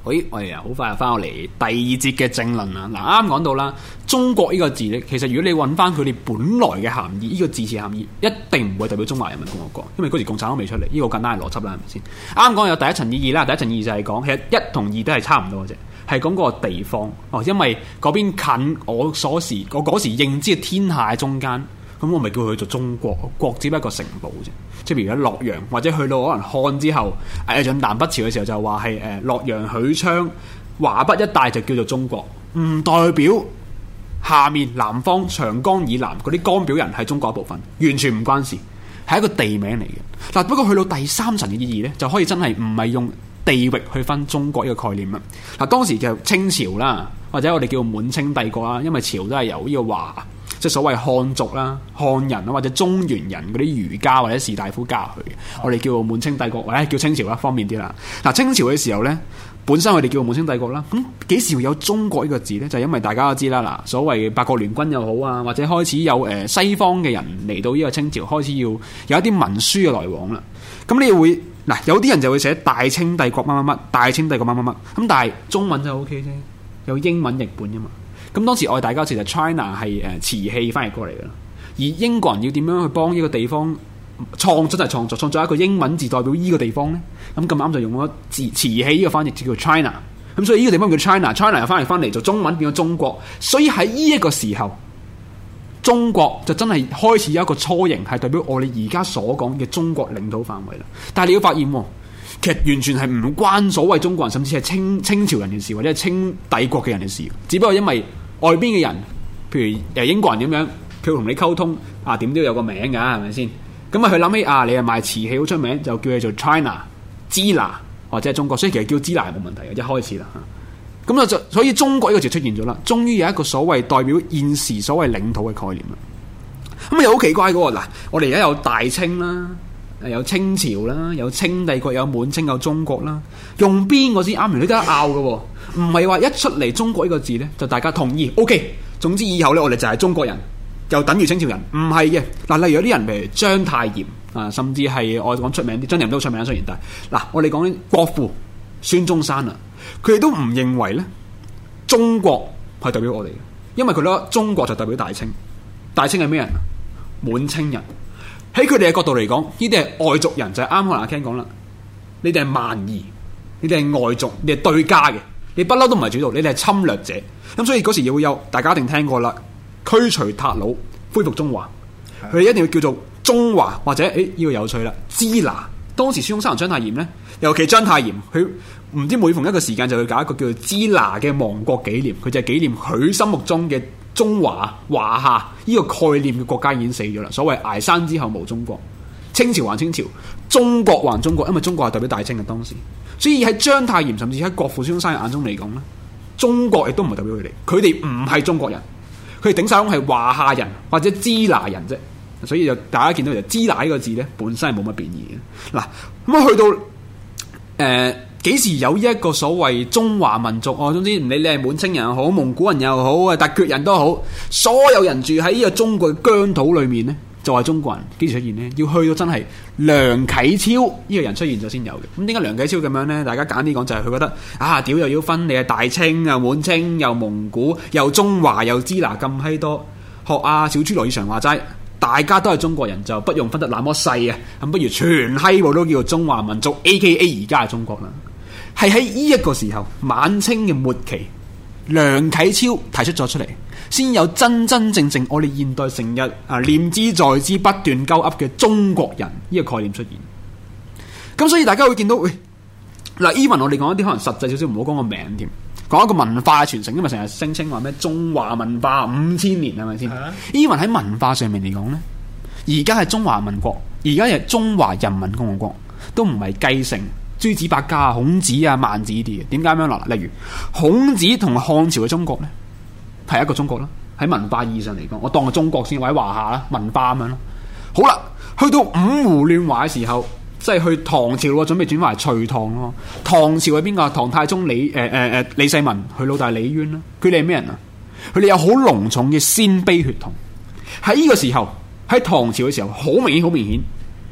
喂，我哋好快就翻落嚟第二節嘅正論啦。嗱，啱講到啦，中國呢個字咧，其實如果你揾翻佢哋本來嘅含義，呢個字詞含義一定唔會代表中華人民共和國，因為嗰時共產黨未出嚟，呢個簡單嘅邏輯啦，係咪先？啱講有第一層意義啦，第一層意義就係講其實一同二都係差唔多嘅啫，係講嗰個地方哦，因為嗰邊近我嗰時認知嘅天下中間。咁我咪叫佢做中國，國只不過一個城堡啫。即係譬如喺洛陽，或者去到可能漢之後，進南北朝嘅時候就話係洛陽、許昌、華北一帶就叫做中國，唔代表下面南方長江以南嗰啲江表人係中國一部分，完全唔關事，係一個地名嚟嘅。嗱，不過去到第三層嘅意義呢，就可以真係唔係用地域去分中國呢個概念啦。嗱，當時就清朝啦，或者我哋叫滿清帝國啦，因為朝都係由呢個華。即係所謂漢族啦、漢人啦，或者中原人嗰啲儒家或者士大夫加入去嘅，我哋叫滿清帝國或者叫清朝啦，方便啲啦。嗱，清朝嘅時候咧，本身我哋叫滿清帝國啦，咁幾時會有中國呢個字咧？就係因為大家都知啦，嗱，所謂八國聯軍又好啊，或者開始有西方嘅人嚟到呢個清朝，開始要有一啲文書嘅來往啦。咁你會嗱，有啲人就會寫大清帝國乜乜乜，大清帝國乜乜乜，咁但係中文就 OK 啫，有英文譯本啫嘛。咁當時我哋大家其實 China 係瓷器翻譯過嚟嘅，而英國人要點樣去幫呢個地方創作一個英文字代表呢個地方呢？咁咁啱就用咗瓷器呢個翻譯就叫 China， 咁所以呢個地方叫 China 又翻譯翻嚟做中文變咗中國，所以喺呢一個時候，中國就真係開始有一個雛形係代表我哋而家所講嘅中國領土範圍啦。但係你要發現，其實完全係唔關所謂中國人，甚至係清朝人嘅事，或者係清帝國嘅人嘅事，只不過因為外邊嘅人，譬如英國人咁樣，佢同你溝通啊，點都有個名㗎，係咪先？咁啊，佢諗起啊，你係賣瓷器好出名，就叫佢做 China、支那或者係中國，所以其實叫支那係冇問題嘅，一開始啦。咁就所以中國呢個字出現咗啦，終於有一個所謂代表現時所謂領土嘅概念啦。咁又好奇怪嘅喎，嗱，我哋而家有大清啦，有清朝啦，有清帝國，有滿清，有中國啦，用邊個先啱？你都得拗嘅喎。唔係話一出嚟中國呢個字呢，就大家同意 OK。總之以後呢，我哋就係中國人，又等於清朝人，唔係嘅。嗱，例如有啲人譬如章太炎啊，甚至係我講出名啲，張太炎都出名，雖然但係嗱，我哋講啲國父孫中山啊，佢哋都唔認為呢中國係代表我哋嘅，因為佢覺得中國就代表大清，大清係咩人啊？滿清人。喺佢哋嘅角度嚟講，呢啲係外族人，就係啱可能阿 Ken 講啦，你哋係蠻夷，你哋係外族，你係對家嘅。你不嬲都唔係主導，你哋係侵略者，咁所以嗰時又會有大家一定聽過啦，驅除韃虜，恢復中華，佢哋一定要叫做中華或者呢個有趣啦，支那。當時孫中山同章太炎呢，尤其章太炎，佢唔知每逢一個時間就會搞一個叫做支那嘅亡國紀念，佢就係紀念佢心目中嘅中華華夏呢個概念嘅國家已經死咗啦。所謂崖山之後無中國，清朝還清朝，中國還中國，因為中國係代表大清嘅當時。所以喺章太炎甚至喺國父孫中山嘅眼中嚟講咧，中國亦都唔係代表佢哋，佢哋唔係中國人，佢哋頂晒籠係華夏人或者支那人啫。所以就大家見到就支那呢個字咧，本身係冇乜變異嘅。嗱，咁去到幾時有一個所謂中華民族？總之唔理你係滿清人又好，蒙古人又好，突厥人都好，所有人住喺呢個中國嘅疆土裏面咧，就係中國人。幾時出現呢？要去到真係梁啟超呢個人出現咗先有嘅。咁點解梁啟超咁樣呢？大家簡單啲講就係佢覺得啊，屌又要分你係大清又滿清又蒙古又中華又支那咁閪多，學阿小豬羅志祥話齋，大家都係中國人，就不用分得那麼細啊！咁不如全閪部都叫做中華民族 ，AKA 而家係中國啦。係喺呢一個時候，晚清嘅末期，梁啟超提出咗出嚟，先有真真正正我哋現代成日念之在之不斷鳩噏嘅中國人呢個概念出現。咁所以大家會見到，喂，嗱 even 我哋講一啲可能實際少少，唔好講個名添，講一個文化嘅傳承，因為成日聲稱話咩中華文化5000年係咪先？even 喺文化上面嚟講呢，而家係中華民國，而家係中華人民共和國，都唔係繼承諸子百家、孔子啊、孟子啲嘅。點解咁樣啦？例如孔子同漢朝嘅中國呢，係一個中國啦。喺文化意義上嚟講，我當個中國先，或者華夏啦，文化咁樣咯。好啦，去到五胡亂華嘅時候，即係去唐朝咯，準備轉翻嚟隋唐咯。唐朝係邊個？唐太宗李世民，佢老大李淵啦。佢哋係咩人啊？佢哋有好濃重嘅鮮卑血統。喺呢個時候，喺唐朝嘅時候，好明顯，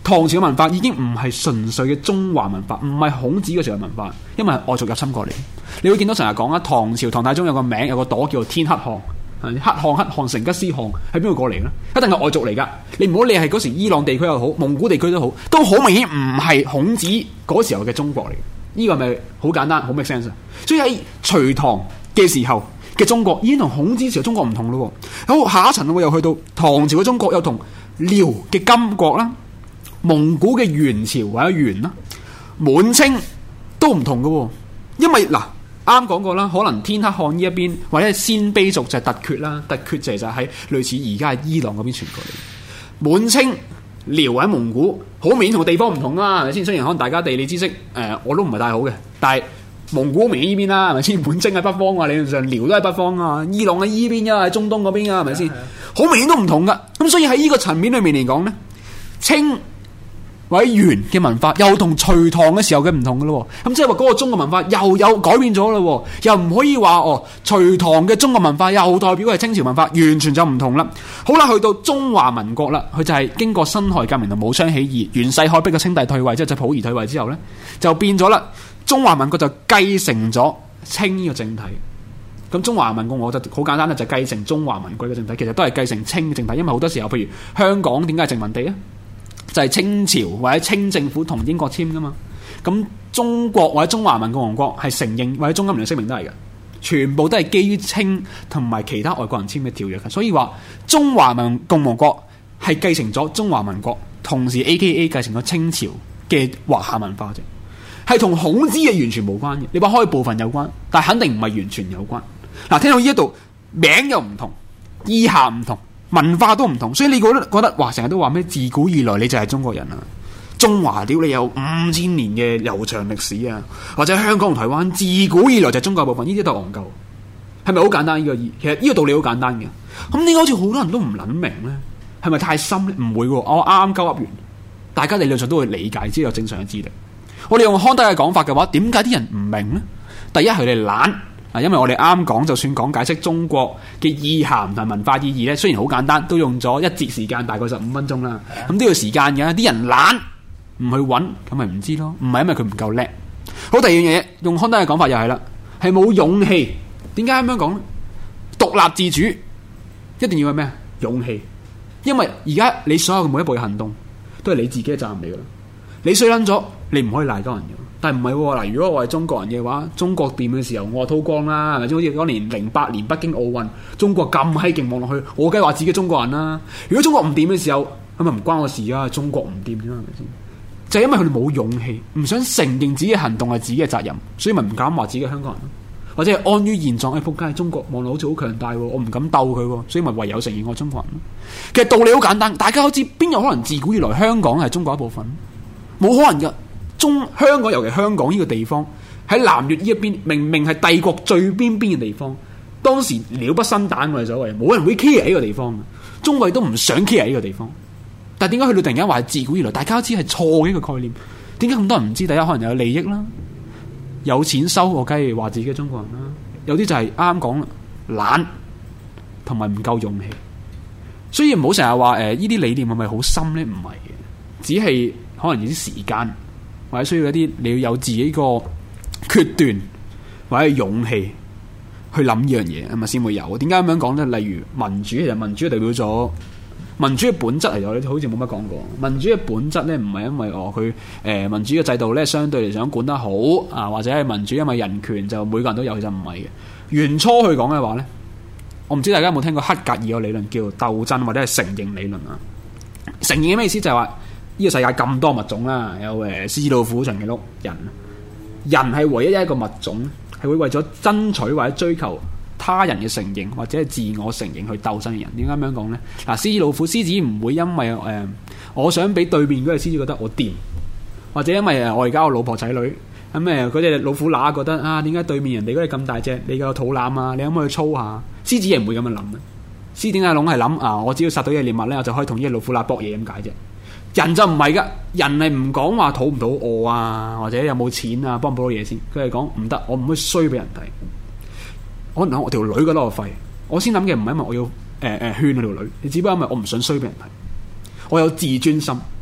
唐朝嘅文化已經唔係純粹嘅中華文化，唔係孔子嗰時嘅文化，因為係外族入侵過嚟。你會見到成日講啊，唐朝唐太宗有個名，有個朵叫做天黑汗，黑汗成吉思汗係邊個過嚟呢？一定係外族嚟噶。你唔好理係嗰時伊朗地區又好，蒙古地區都好，都好明顯唔係孔子嗰時候嘅中國嚟。呢個係咪好簡單，好 make sense 啊？所以喺隋唐嘅時候嘅中國已經同孔子時候中國唔同咯。好，下一層又去到唐朝嘅中國，又同遼嘅金國啦、蒙古嘅元朝或者元啦、滿清都唔同嘅。因為嗱，啱講過啦，可能天黑汗呢一邊或者係鮮卑族就係突厥啦，突厥就係喺類似而家係伊朗嗰邊傳過嚟。滿清、遼或者蒙古好明顯同個地方唔同啦，係咪先？雖然可能大家地理知識我都唔係太好嘅，但係蒙古明顯呢邊啦，係咪先？滿清喺北方啊，理論上遼都係北方啊，伊朗喺依邊啊，喺中東嗰邊啊，係咪先？好明顯都唔同噶。咁所以喺呢個層面裏面嚟講咧，清或者元嘅文化又同隋唐嘅時候嘅唔同噶咯。咁即係話嗰個中國文化又有改變咗咯，又唔可以話隋唐嘅中國文化又代表係清朝文化，完全就唔同啦。好啦，去到中華民國啦，佢就係經過辛亥革命同武昌起義，袁世凱逼個清帝退位，即係溥儀退位之後咧，就變咗啦。中華民國就繼承咗清呢個政體。咁中華民國我覺得好簡單啦，就繼承中華民國嘅政體，其實都係繼承清嘅政體。因為好多時候，譬如香港點解係殖民地啊？就係清朝或者清政府同英國簽噶嘛。咁中國或者中華民共和國係承認，或者中英聯合聲明都係嘅，全部都係基於清同埋其他外國人簽嘅條約嘅。所以話中華民共和國係繼承咗中華民國，同時 AKA 繼承咗清朝嘅華夏文化啫。係同孔子嘅完全無關嘅，你話可以部分有關，但係肯定唔係完全有關。嗱，聽到呢一度名又唔同，意涵唔同，文化都唔同，所以你覺得哇，成日都話咩自古以來你就係中國人啊？中華屌你有5000年嘅悠長歷史啊，或者香港同台灣自古以來就係中國部分，呢啲都係戇鳩，係咪好簡單？呢個其實呢個道理好簡單嘅，咁點解好似好多人都唔諗明咧？係咪太深咧？唔會喎，我啱啱鳩噏完，大家理論上都會理解，只有正常嘅智力。我哋用康德嘅講法嘅話，點解啲人唔明呢？第一，佢哋懶啊，因為我哋啱講，就算講解釋中國嘅意涵同文化意義咧，雖然好簡單，都用咗一節時間，大概15分鐘啦。咁都要時間嘅，啲人懶唔去揾，咁咪唔知咯。唔係因為佢唔夠叻。好，第二樣嘢，用康德嘅講法又係啦，係冇勇氣。點解咁樣講呢？獨立自主一定要係咩？勇氣。因為而家你所有嘅每一步嘅行動，都係你自己嘅責任嚟噶啦。你衰撚咗，你唔可以賴多人嘅。但係唔係喎，嗱，如果我係中國人嘅話，中國掂嘅時候，我話韜光啦，係咪先？好似嗰年08年北京奧運，中國咁閪勁望落去，我梗係話自己中國人啦。如果中國唔掂嘅時候，咁咪唔關我事啊，中國唔掂啫，係咪先？就係因為佢哋冇勇氣，唔想承認自己嘅行動係自己嘅責任，所以咪唔敢話自己係香港人，或者係安於現狀。仆街，中國望落好似好強大，我唔敢鬥佢，所以咪唯有承認我係中國人。其實道理好簡單，大家都知邊有可能自古以來香港係中國一部分？冇可能噶。香港，尤其香港呢個地方喺南越呢一邊，明明係帝國最邊嘅地方，當時鳥不生蛋，我哋所謂冇人會 care 呢個地方，中國都唔想 care 呢個地方。但係點解去到突然間話自古以來，大家都知係錯嘅一個概念？點解咁多人唔知？第一，可能有利益啦，有錢收，我梗係話自己係中國人啦。有啲就係啱啱講啦，懶同埋唔夠勇氣。所以唔好成日話呢啲理念係咪好深呢？唔係嘅，只係可能有啲時間。或者需要一啲你要有自己個決斷或者勇氣去諗呢樣嘢，係咪先會有？點解咁樣講呢？例如民主，其實民主代表咗民主嘅本質嚟咗，你好似冇乜講過。民主嘅本質呢，唔係因為佢民主嘅制度呢，相對嚟想管得好啊，或者係民主因為人權就每個人都有，其實唔係嘅。原初去講嘅話呢，我唔知大家有冇聽過黑格爾個理論叫鬥爭或者係承認理論啊？承認嘅咩意思？就係話，呢個世界咁多物種啦，有獅子老虎長頸鹿人係唯一一個物種，係會為咗爭取或者追求他人嘅承認或者係自我承認去鬥爭嘅人。點解咁樣講呢？嗱，獅子老虎，獅子唔會因為我想俾對面嗰隻獅子覺得我掂，或者因為我而家有老婆仔女咁嗰隻老虎乸覺得啊，點解對面人哋嗰隻咁大隻，你個肚腩啊，你可唔可以操下？獅子係唔會咁樣諗嘅。獅子龍係諗啊，我只要殺到隻獵物咧，我就可以同呢隻老虎乸搏嘢咁解啫。人就唔係噶，人係唔講話肚唔肚餓啊，或者有冇錢啊，幫唔幫到嘢先。佢係講唔得，我唔可以衰俾人睇。可能我條女覺得我廢，我先諗嘅唔係因為我要勸我條女，你只不過因為我唔想衰俾人睇。我有自尊心，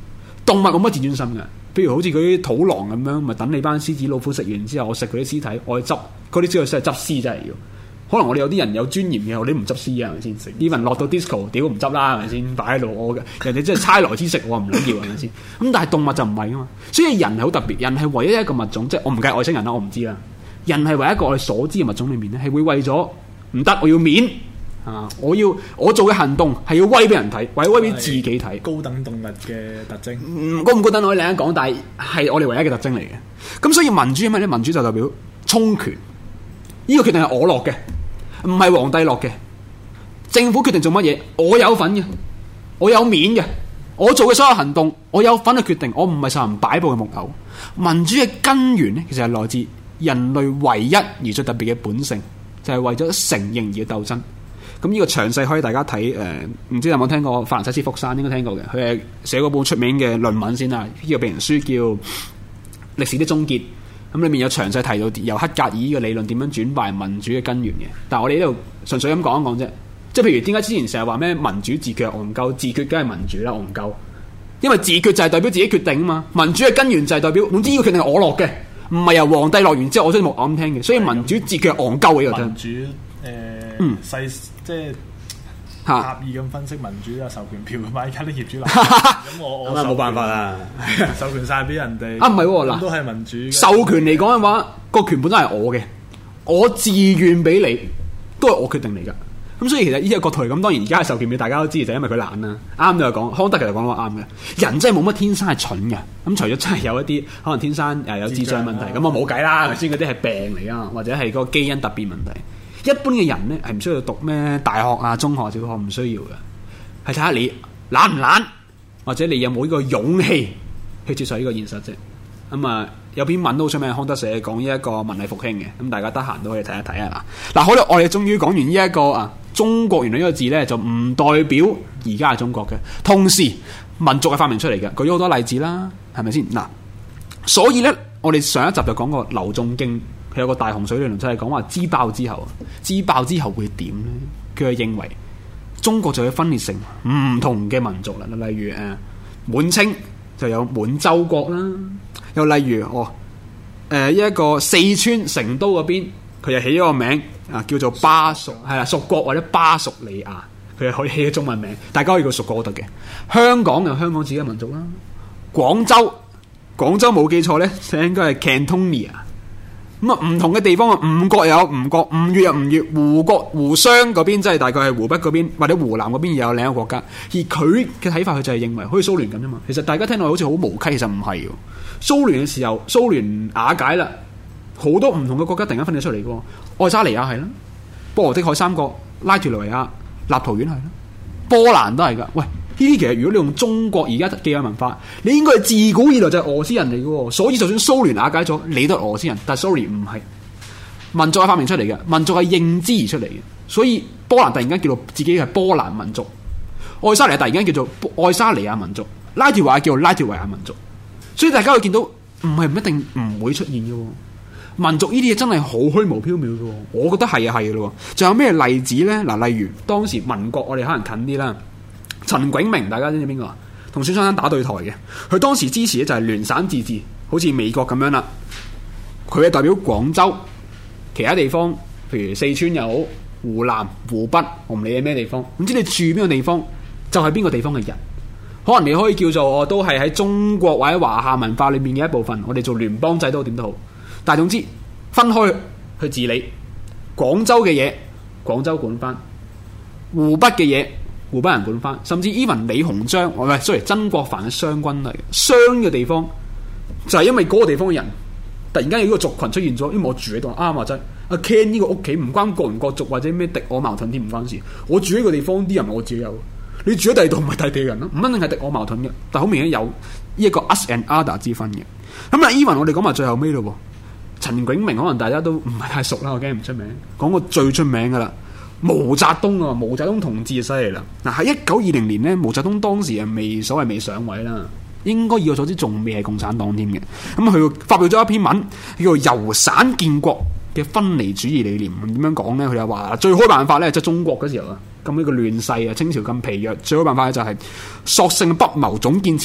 動物冇乜自尊心嘅。譬如好似嗰啲土狼咁樣，咪等你班獅子老虎食完之後，我食佢啲屍體，我去執嗰啲先係執屍真係要。可能我哋有啲人有尊嚴嘅，我哋唔執屍啊，係咪先？even落到 disco， 屌唔執啦，係咪先？擺喺度，我人哋真係差來之食，我唔撚要，係咪先？咁但係動物就唔係噶嘛，所以人係好特別，人係唯一一個物種，即係我唔計外星人啦，我唔知啦。人係唯一一個我哋所知嘅物種裏面咧，係會為咗唔得，我要面啊！我做嘅行動係要威俾人睇，或者威俾自己睇。 高等動物嘅特徵， 高唔高等我哋另一講，但係我哋唯一嘅特徵嚟嘅。咁所以民主係咩咧？民主就代表充權，呢個決定係我落嘅。唔係皇帝落嘅，政府決定做乜嘢，我有份嘅，我有面嘅，我做嘅所有行動，我有份去決定，我唔係受人擺布嘅木偶。民主嘅根源咧，其實係來自人類唯一而最特別嘅本性，就係為咗承認而鬥爭。咁呢個詳細可以大家睇，唔知有冇聽過法蘭西斯福山，應該聽過嘅，佢係寫嗰本出名嘅論文先啦，呢個病人書叫《歷史的終結》。咁裏面有詳細提到由黑格爾嘅理論點樣轉敗民主嘅根源嘅，但係我哋呢度純粹咁講一講啫。即係譬如點解之前成日話咩民主自決戇鳩，自決梗係民主啦戇鳩，因為自決就係代表自己決定啊嘛，民主嘅根源就係代表總之呢個決定係我落嘅，唔係由皇帝落完之後我先木偶咁聽嘅，所以民主自決係戇鳩嘅呢個聽。 民主細即係。狹義咁分析民主啊，授權票嘛，而家啲業主立咁我冇辦法啦， 授權晒俾人哋啊，唔係嗱， 都係民主授權嚟講嘅話，個權本身係我嘅，我自願俾你，都係我決定嚟噶。咁所以其實呢個角度嚟咁，當然而家係授權俾大家都知，就因為佢懶啦。啱就係講康德其實講得啱嘅，人真係冇乜天生係蠢嘅。咁除咗真係有一啲可能天生有智障問題，咁我冇計啦，先嗰啲係病嚟啊，或者係嗰個基因突變問題。一般嘅人咧係唔需要讀咩大學啊、中學、小學，唔需要嘅，係睇下你懶唔懶，或者你有冇呢個勇氣去接受呢個現實啫。咁啊，有篇文都好出名，康德寫講呢一個文藝復興嘅，咁大家得閒都可以睇一睇啊。嗱，好啦，我哋終於講完呢一個啊，中國原來呢個字咧就唔代表而家係中國嘅，同時民族係發明出嚟嘅，舉咗好多例子啦，係咪先？嗱，所以咧，我哋上一集就講過劉仲敬。佢有個大洪水理論，就係講話支爆之後會點咧？佢係認為中國就會分裂成唔同嘅民族啦。例如滿清就有滿洲國啦，又例如一個四川成都嗰邊，佢又起咗個名啊，叫做巴蜀，係啦，蜀國或者巴蜀利亞，佢係可以起咗中文名，大家可以叫蜀國都得嘅。香港有香港自己嘅民族啦，廣州冇記錯咧，應該係 Cantonia。咁啊，唔同嘅地方啊，吳國有吳國，吳越有吳越，湖湘嗰邊即係大概係湖北嗰邊或者湖南嗰邊又有另一個國家。而佢嘅睇法，佢就係認為好似蘇聯咁啫嘛。其實大家聽落好似好無稽，其實唔係嘅。蘇聯嘅時候，蘇聯瓦解啦，好多唔同嘅國家突然間分咗出嚟嘅。愛沙尼亞係啦，波羅的海三國、拉脫維亞、立陶宛係啦，波蘭都係噶。喂！呢啲其實如果你用中國而家既有文化，你應該係自古以來就係俄羅斯人嚟嘅，所以就算蘇聯瓦解咗，你都係俄羅斯人。但係 sorry 唔係，民族係發明出嚟嘅，民族係認知而出嚟嘅。所以波蘭突然間叫做自己係波蘭民族，愛沙尼亞突然間叫做愛沙尼亞民族，拉脫維亞叫做拉脫維亞民族。所以大家會見到唔係唔一定唔會出現嘅，民族呢啲嘢真係好虛無縹緲嘅。我覺得係啊係嘅咯。仲有咩例子咧？嗱，例如當時民國，我哋可能近啲啦。陳炯明，大家知唔知邊個啊？同孫中山打對台嘅，佢當時支持咧就係聯省自治，好似美國咁樣啦。佢係代表廣州，其他地方，譬如四川又好，湖南、湖北，我唔理你咩地方，唔知你住邊個地方，就係邊個地方嘅人。可能你可以叫做我都係喺中國或者華夏文化裏面嘅一部分，我哋做聯邦制都點都好。但係總之分開去治理，廣州嘅嘢廣州管翻，湖北嘅嘢湖北人管翻，甚至 even 李鴻章，曾國藩嘅湘軍嚟，湘嘅地方就係因為嗰個地方嘅人突然間有呢個族群出現咗，因為我住喺度啱啊，真阿 Ken 呢個屋企唔關國唔國族或者咩敵我矛盾添，唔關事。我住喺個地方啲人我自己有，你住喺第二度唔係第地人咯，唔一定係敵我矛盾嘅，但好明顯有呢一個 us and other 之分嘅。咁啊 even 我哋講埋最後尾咯，陳炯明可能大家都唔係太熟啦，我驚唔出名，講個最出名噶啦。毛澤東啊，毛澤東同志就犀利啦！嗱，喺1920年咧，毛澤東當時係未上位啦，應該以我所知仲未係共產黨添嘅。咁佢發表咗一篇文，叫做《由省建國嘅分離主義理念》。點樣講咧？佢就話最好辦法咧，即係中國嗰時候啊，咁呢個亂世啊，清朝咁疲弱，最好辦法就係索性不謀總建設，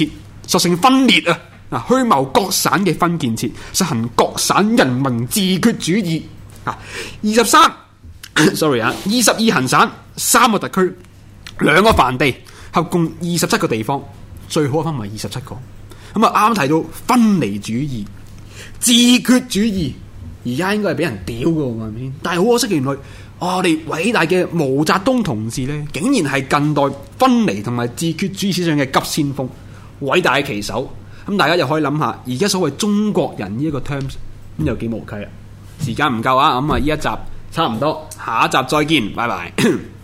索性分裂啊！虛謀各省嘅分建設，實行各省人民自決主義啊！23 行省，3個特區，2個藩地，合共27個地方，最好分為27個。咁啊，啱提到分離主義、自決主義，而家應該係俾人屌嘅喎，係咪先？但係好可惜，原來我哋偉大嘅毛澤東同志呢，竟然係近代分離同埋自決主義思想嘅急先鋒，偉大嘅旗手。咁大家又可以諗下，而家所謂中國人呢一個 terms 咁有幾無稽啊？時間唔夠啊，咁啊呢一集差唔多，下一集再見，拜拜。